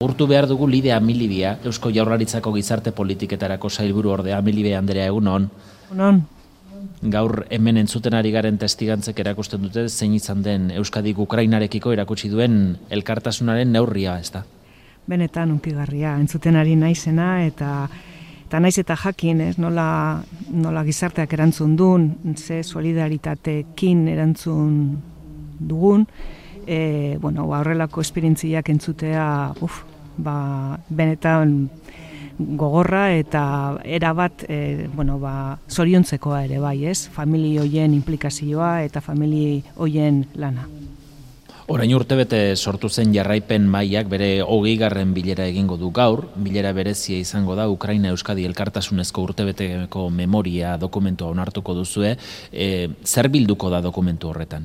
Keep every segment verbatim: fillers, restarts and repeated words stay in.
Urtu behar dugu Lidia Amilibia, Eusko Jaurlaritzako gizarte politiketarako sailburu ordea. Amilibia Andrea, egunon. Egunon. Gaur hemen entzuten ari garen testigantzek erakusten dute zein izan den Euskadik Ukrainarekiko erakutsi duen elkartasunaren neurria, ez da? Benetan unkigarria, entzuten ari naizena eta eta naiz eta jakin, ez, nola, nola gizarteak erantzun duen, ze solidaritatekin erantzun dugun, e, bueno, ba, horrelako esperientziak entzutea, uf, ba, benetan gogorra eta erabat e, bueno, ba, zoriontzekoa ere bai, ez? Famili hoien implikazioa eta famili hoien lana. Orain urtebete sortu zen jarraipen mailak bere hogeigarren bilera egingo du gaur, bilera berezia izango da Ukraina Euskadi elkartasunezko urtebeteko memoria dokumentua onartuko duzue, e, zer bilduko da dokumentu horretan?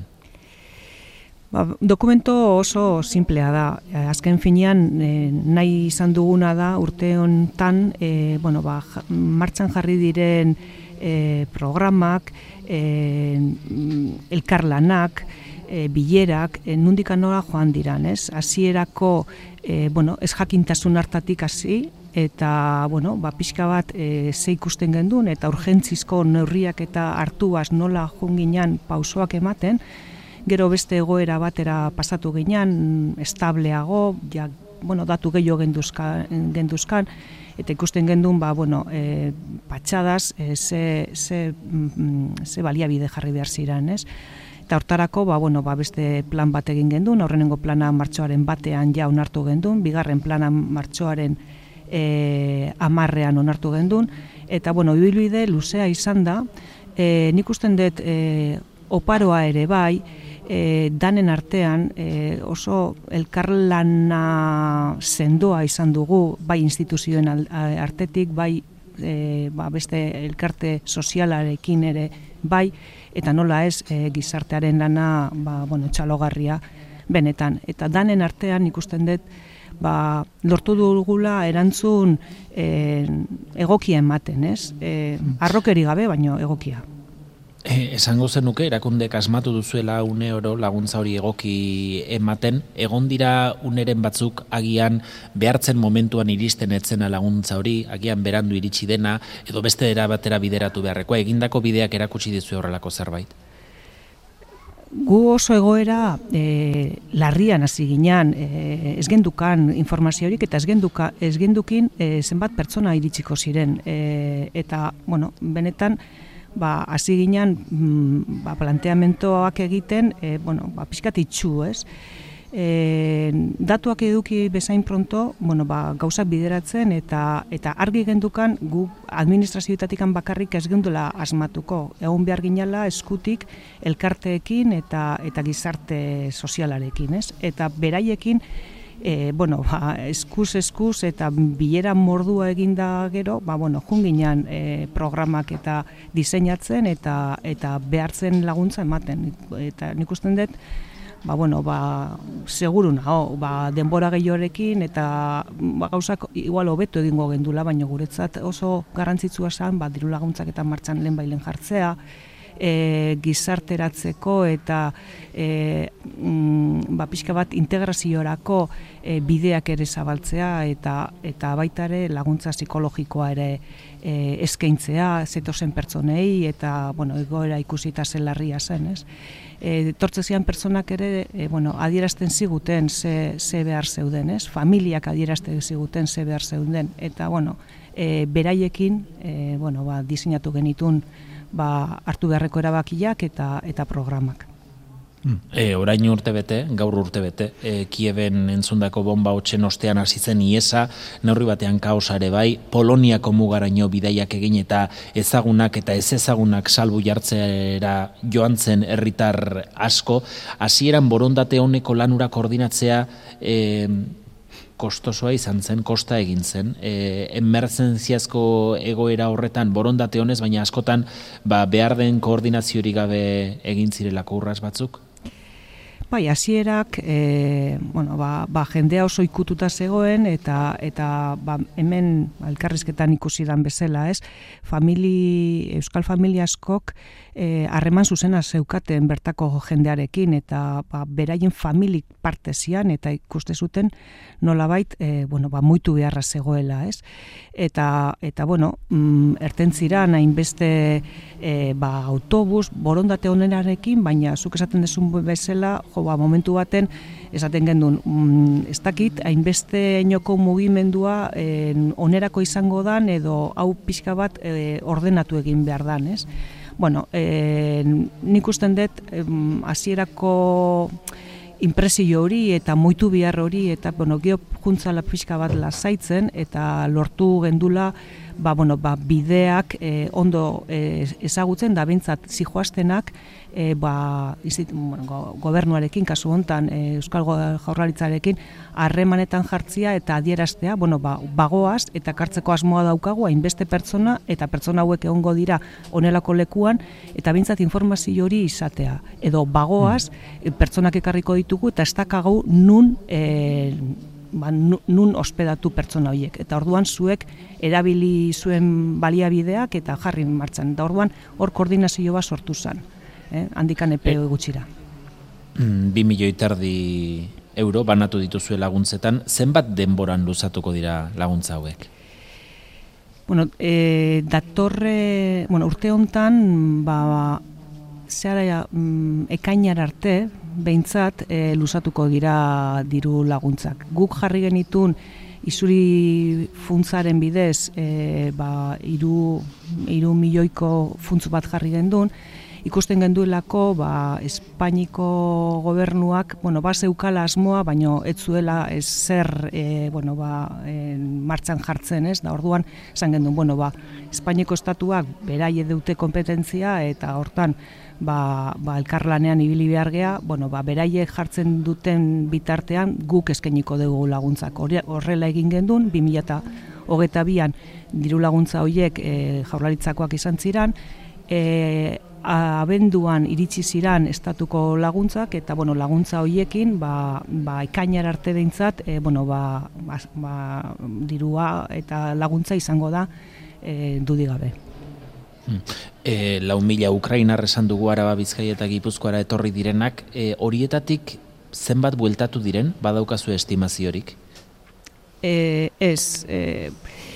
Ba, dokumento oso simplea da. Azken finean e, nahi izan duguna da urte honetan e, bueno, ba, martxan jarri diren e, programak, e, elkarlanak, e, bilerak, e, nundik anora joan diran, ez? Hasierako e, bueno, ez jakintasun hartatik hasi eta bueno, ba, pixka bat e, ze ikusten gendun eta urgentzizko neurriak eta hartuaz nola junginan pausoak ematen. Gero beste egoera batera pasatu ginean, estableago, ja, bueno, datu gehiago genduzkan, genduzkan eta ikusten gendun, ba, bueno, e, patxadas, e, ze, ze, mm, ze baliabide jarri behar ziren, ez? Eta hortarako, ba, bueno, ba, beste plan bat egin gendun, aurrenengo plana martxoaren batean ja onartu gendun, bigarren plana martxoaren e, amarrean onartu gendun, eta, bueno, ibilbide luzea izan da, e, nik usten dut e, oparoa ere bai, E, danen artean e, oso elkarlana sendoa izan dugu, bai instituzioen artetik, bai e, ba, beste elkarte sozialarekin ere bai, eta nola ez e, gizartearen lana ba, bueno, txalogarria benetan. Eta danen artean ikusten dut ba, lortu dugula erantzun e, egokia ematen, ez? E, arrokeri gabe, baino egokia. Eh, esango zenuke, erakundek asmatu duzuela une oro laguntza hori egoki ematen, egon dira uneren batzuk agian behartzen momentuan iristen etzena laguntza hori, agian berandu iritsi dena, edo beste era batera bideratu beharrekoa, egindako bideak erakutsi dizu horrelako zerbait? Gu oso egoera e, larrian hasi ginean, e, ez gendukan informaziorik eta ez, genduka, ez gendukin e, zenbat pertsona iritsiko ziren. E, eta, bueno, benetan, ba, hasi ginean ba, planteamentoak egiten, e, bueno, ba, pixkat itxu, ez? E, datuak eduki bezain pronto, bueno, ba, gauzak bideratzen eta eta argi gendukan gu administrazioetatikan bakarrik ez gendula asmatuko. Egun behar ginala eskutik elkarteekin eta eta gizarte sozialarekin, ez? Eta beraiekin E, bueno, ba, eskuz eskuz eta bilera mordua eginda gero, ba, bueno, junginan e, programak eta diseinatzen eta eta behartzen laguntza ematen. Eta nik usten dut, ba, bueno, ba, seguru nago, ba, denbora gehiorekin eta ba, gauzak igual hobeto egingo gendula, baina guretzat oso garrantzitsua zen, ba, diru laguntzak eta martxan lehen bailen jartzea, E, gizarteratzeko eta e, mm, ba, pixka bat integraziorako e, bideak ere zabaltzea eta eta baita ere laguntza psikologikoa ere e, eskaintzea zetozen pertsonei eta bueno, egoera ikusita zen larria zen, ez? E, tortzezian pertsonak ere e, bueno, adierazten ziguten ze, ze behar zeuden, ez? Familiak adierazten ziguten ze behar zeuden eta bueno, e, beraiekin e, bueno, ba, diseinatu genitun ba, hartu beharreko erabakiak eta eta programak. E, orain urtebete, gaur urtebete, e, Kieben entzundako bomba hotxen ostean hasi zen iesa, neurri batean kaosa ere bai, Poloniako mugaraino bidaiak egin eta ezagunak eta ez ezagunak salbu jartzera joan zen herritar asko, hasieran borondate honeko lanura koordinatzea e, kostosoa izan zen, kosta egin zen, e, emergentziazko egoera horretan borondate honez, baina askotan ba, behar den koordinaziorik gabe egin zirelako urras batzuk? Bai, hasierak e, bueno, ba, ba, jendea oso ikututa zegoen eta eta ba, hemen elkarrizketan ikusi dan bezala, ez? Famili, euskal familia askok harreman e, zuzena zeukaten bertako jendearekin eta ba, beraien familik parte zian eta ikuste zuten nolabait e, bueno, ba, muitu beharra zegoela, ez? Eta, eta bueno, mm, ertentziran hainbeste e, ba, autobus, borondate onenarekin, baina zuk esaten dezun bezala, jo, ba, momentu baten esaten gendun, mm, ez dakit, hainbeste inoko mugimendua eh, onerako izango dan edo hau pixka bat eh, ordenatu egin behar dan, ez? Bueno, eh, nik usten dut hasierako impresio hori eta moitu behar hori eta bueno, geho juntzala pixka bat lasaitzen eta lortu gendula ba, bueno, ba, bideak eh, ondo eh, ezagutzen da bintzat zijoaztenak e, ba, izit, bueno, gobernuarekin, kasu hontan e, Euskal Jaurlaritzarekin harremanetan jartzia eta adieraztea, bueno, ba, bagoaz eta kartzeko asmoa daukagu hainbeste pertsona eta pertsona hauek egongo dira honelako lekuan eta bintzat informazio hori izatea. Edo bagoaz mm. pertsonak ekarriko ditugu eta ez dakagu nun e, ba, nun ospedatu pertsona horiek. Eta orduan zuek erabili zuen baliabideak eta jarri martxan. Eta orduan hor koordinazio bat sortu zen, eh? handikan epe e, gutxira. Bi milioi terdi euro banatu dituzue laguntzetan, zenbat denboran luzatuko dira laguntza hauek? Bueno, e, datorre, bueno, urte hontan, ba, zehara mm, ekainar arte, behintzat e, luzatuko dira diru laguntzak. Guk jarri genitun izuri funtzaren bidez e, ba, iru, iru milioiko funtz bat jarri gendun, ikusten genduelako ba, Espainiko gobernuak bueno, ba, zeukala asmoa, baino ez zuela ez zer e, bueno, ba, e, martxan jartzen, ez? Da orduan esan gendun, bueno, ba, Espainiko estatuak beraie dute kompetentzia eta hortan ba, ba, elkarlanean ibili behar gea, bueno, ba, beraiek jartzen duten bitartean guk eskainiko dugu laguntzak. Horrela egin gendun, bi mila hogeita bian diru laguntza horiek e, Jaurlaritzakoak izan ziran, e, abenduan iritsi ziran estatuko laguntzak eta bueno, laguntza horiekin ba, ba, ekainar arte behintzat e, bueno, ba, ba, ba, dirua eta laguntza izango da e, dudigabe. E, lau mila Ukrainar esan dugu Araba, Bizkaia eta Gipuzkoara etorri direnak, e, horietatik zenbat bueltatu diren, badaukazu estimaziorik? E, ez, e,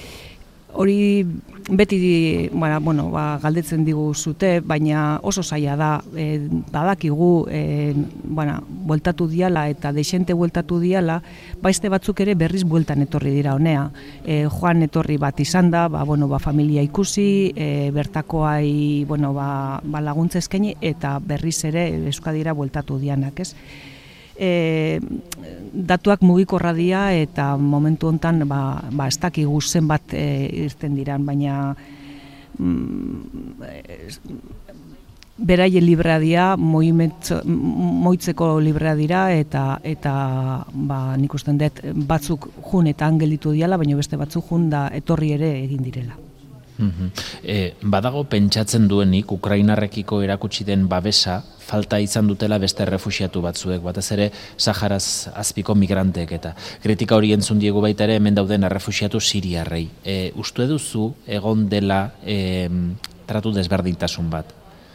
hori beti bueno, bueno, ba, galdetzen digu zute, baina oso zaila da, e, badakigu e, bueno, bueltatu diala eta deixente bueltatu diala, baizte batzuk ere berriz bueltan etorri dira honea. E, joan etorri bat izan da, ba, bueno, ba, familia ikusi, e, bertakoai bueno, ba, ba, laguntza eskaini eta berriz ere Euskadira bueltatu dianak, ez? E, datuak mugikorra dira eta momentu hontan ba, ba ez dakigu zenbat e, irten diran, baina mm, beraien librea dira, moitzeko librea dira eta eta ba, nik usten dut batzuk jun eta angelitu diala, baina beste batzuk jun da etorri ere egin direla. E, badago pentsatzen duenik Ukrainarrekiko erakutsi den babesa falta izan dutela beste refuxiatu batzuek, batez ere Saharaz azpiko migranteek eta kritika hori entzun diegu baita ere hemen dauden refuxiatu siriarrei. E, uste duzu egon dela e, tratu desberdintasun bat?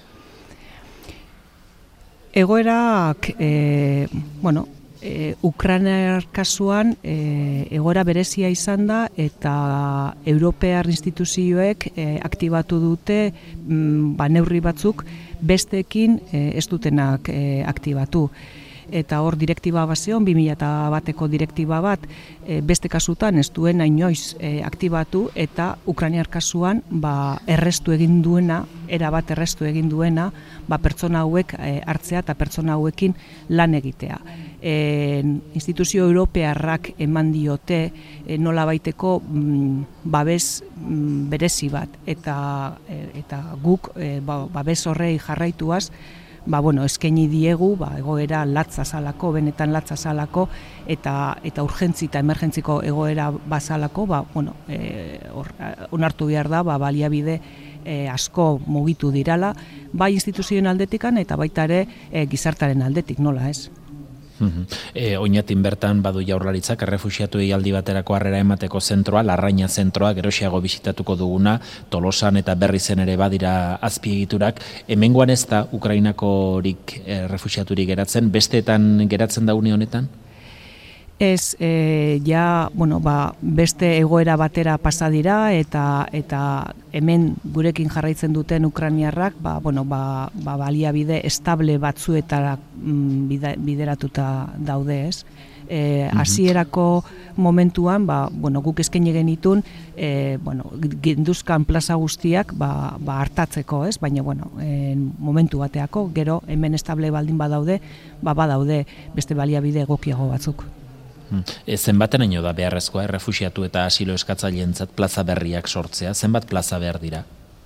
Egoerak, e, bueno, E, Ukrainar kasuan e, egoera berezia izan da eta Europear instituzioek e, aktibatu dute mm, ba, neurri batzuk besteekin e, ez dutenak e, aktibatu. Eta hor direktiba bat zeon, bi mila bateko direktiba bat e, beste kasutan ez duen inoiz e, aktibatu eta Ukrainar kasuan ba, errestu egin duena, era bat errestu egin duena, ba, pertsona hauek e, hartzea eta pertsona hauekin lan egitea. E, instituzio europearrak eman diote e, nola baiteko mm, babes mm, berezi bat eta, e, eta guk e, ba, babes horrei jarraituaz ba, bueno, eskaini diegu, ba, egoera latza zalako, benetan latza zalako, eta, eta urgentzi eta emergentziko egoera bazalako, ba, bueno, e, or, onartu behar da, ba, baliabide e, asko mugitu dirala, bai instituzioen aldetikan eta baita ere e, gizartaren aldetik, nola ez? E, oinatin bertan badu Jaurlaritzak errefuxiatuei aldi baterako harrera emateko zentroa, Larraina zentroa, geroxiago bisitatuko duguna, Tolosan eta Berrizen ere badira azpiegiturak. Hemengoan ez da Ukrainakorik errefuxiaturik geratzen, besteetan geratzen da une honetan? Ez, e, ja, bueno, ba, beste egoera batera pasa dira eta eta hemen gurekin jarraitzen duten ukrainiarrak, ba, bueno, ba, ba, baliabide estable batzuetara mm, bide, bideratuta daude, ez? E, hasierako momentuan, ba, bueno, guk eskaini genitun, e, bueno, ginduzkan plaza guztiak ba, ba hartatzeko, ez? Baina, bueno, en momentu bateako, gero hemen estable baldin badaude, ba, badaude beste baliabide egokiago batzuk. E, zenbateraino da beharrezkoa errefuxiatu eta asilo eskatzaileentzat plaza berriak sortzea? Zenbat plaza behar dira?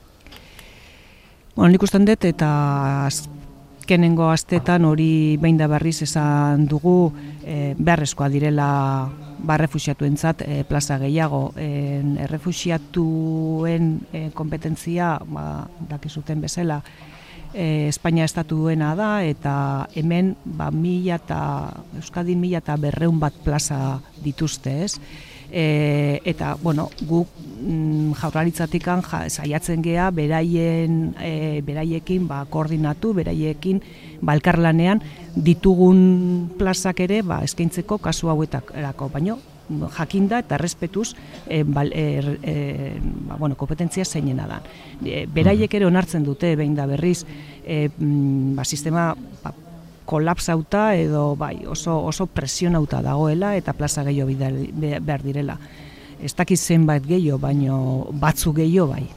Bueno, nik usten dut eta azkenengo astetan hori behin da berriz esan dugu e, beharrezkoa direla ba, errefuxiatuentzat e, plaza gehiago. E, errefuxiatuen e, kompetentzia, ba, dakizuten bezala, E, Espainia estatuena da eta hemen ba, mila eta Euskadin mila eta berreun bat plaza dituzte, ez? E, eta, bueno, guk mm, Jaurlaritzatikan ja, saiatzen gea beraien e, beraiekin ba, koordinatu, beraiekin ba, elkarlanean ditugun plazak ere ba, eskaintzeko kasu hauetarako, baino jakinda eta errespetuz e, bal, e, e, ba, bueno, kompetentzia zeinena da. E, beraiek ere onartzen dute behin da berriz e, ba, sistema ba, kolapsauta edo bai, oso, oso presionauta dagoela eta plaza gehiago behar direla. Ez dakiz zenbait gehiago, baino batzu gehiago bai.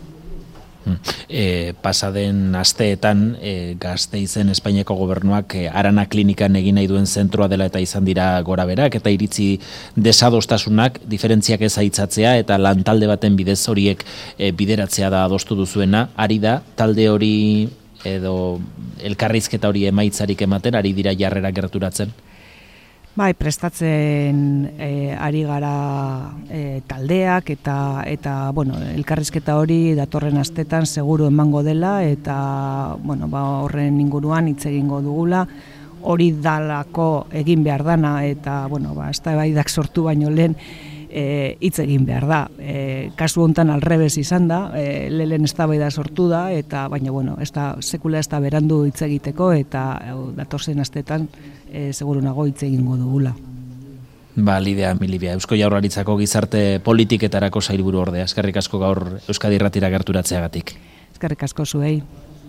E, pasaden asteetan e, Gasteizen Espainiako gobernuak e, Arana klinikan egin nahi duen zentroa dela eta izan dira gora berak eta iritzi desadostasunak, diferentziak ez aitzatzea eta lantalde baten bidez horiek e, bideratzea da adostu duzuena. Ari da talde hori edo elkarrizketa hori emaitzarik ematen, ari dira jarrera gerturatzen? Bai, prestatzen e, ari gara e, taldeak eta eta bueno, elkarrizketa hori datorren astetan seguru emango dela eta bueno, ba, horren inguruan hitz egingo dugula. Hori dalako egin behar dana eta bueno, ba eztabaidak sortu baino lehen hitz e, egin behar da. E, kasu hontan alrebez izan da, e, lehen eztabaida sortu da eta baina bueno, ez da sekula ez da berandu hitz egiteko eta e, datorren astetan E, seguru nago hitz egingo dugula. Ba, Lidia, Milibia, Eusko Jaurlaritzako gizarte politiketarako sailburu ordea. Eskerrik asko gaur Euskadi Irratira gerturatzeagatik. Eskerrik asko zuei.